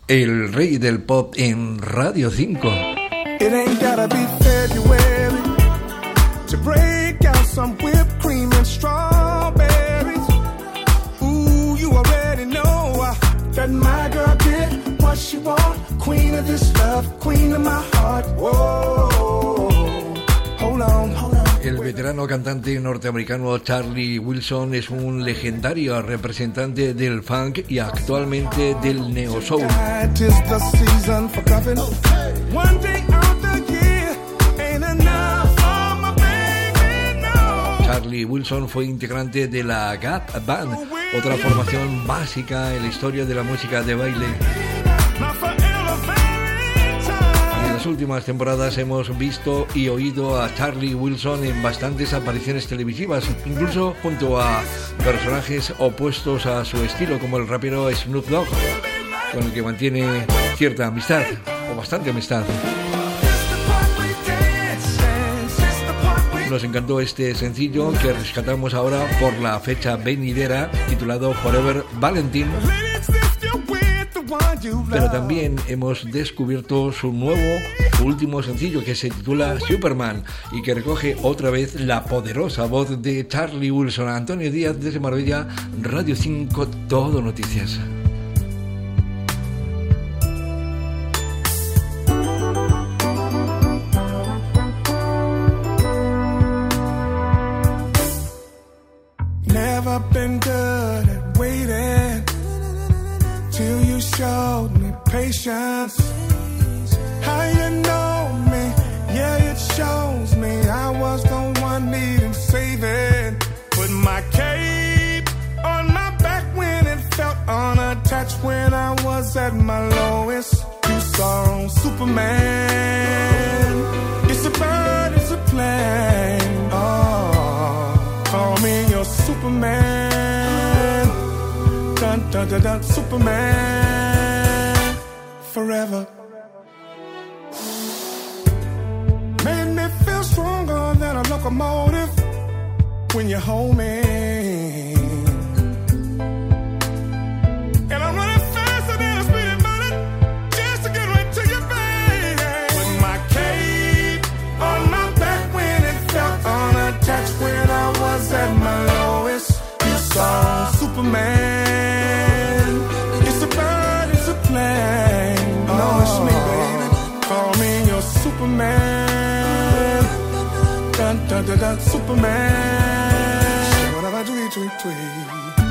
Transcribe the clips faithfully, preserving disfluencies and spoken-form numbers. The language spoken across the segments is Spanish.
El rey del pop en Radio cinco. It ain't gotta be February to break out some whipped cream and strawberries. Ooh, you already know uh, that my girl did what she want. Queen of this love, queen of my heart. Whoa, hold on, hold on. El veterano cantante norteamericano Charlie Wilson es un legendario representante del funk y actualmente del neo soul. Charlie Wilson fue integrante de la Gap Band, otra formación básica en la historia de la música de baile. En las últimas temporadas hemos visto y oído a Charlie Wilson en bastantes apariciones televisivas, incluso junto a personajes opuestos a su estilo, como el rapero Snoop Dogg, con el que mantiene cierta amistad, o bastante amistad. Nos encantó este sencillo que rescatamos ahora por la fecha venidera, titulado Forever Valentine. Pero también hemos descubierto su nuevo, su último sencillo, que se titula Superman y que recoge otra vez la poderosa voz de Charlie Wilson. Antonio Díaz, desde Marbella, Radio cinco, Todo Noticias. Never been good at waiting till you showed me patience. How you know me, yeah, it shows me I was the one needing saving. Put my cape on my back when it felt unattached. When I was at my lowest, you saw Superman. It's a bird, it's a plane. Oh, call me your Superman. Dun, dun, dun, dun, Superman, forever. Made me feel stronger than a locomotive when you hold me. And I'm running faster than a speeding bullet just to get right to your face. With my cape on my back when it felt unattached. When I was at my lowest, you saw Superman. Superman, dun dun dun dun, Superman. Whatever tweet tweet tweet.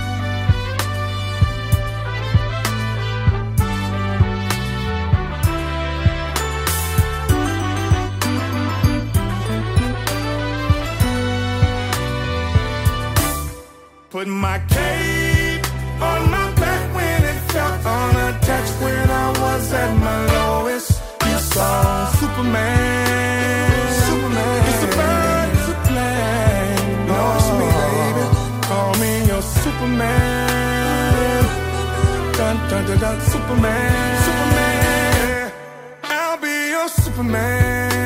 Put my cape on my back when it felt unattached. When I was at my lowest, you saw Superman. Superman. It's a bird, it's a plane. No, it's me, baby. Call me your Superman. Dun dun dun dun, Superman. Superman. I'll be your Superman.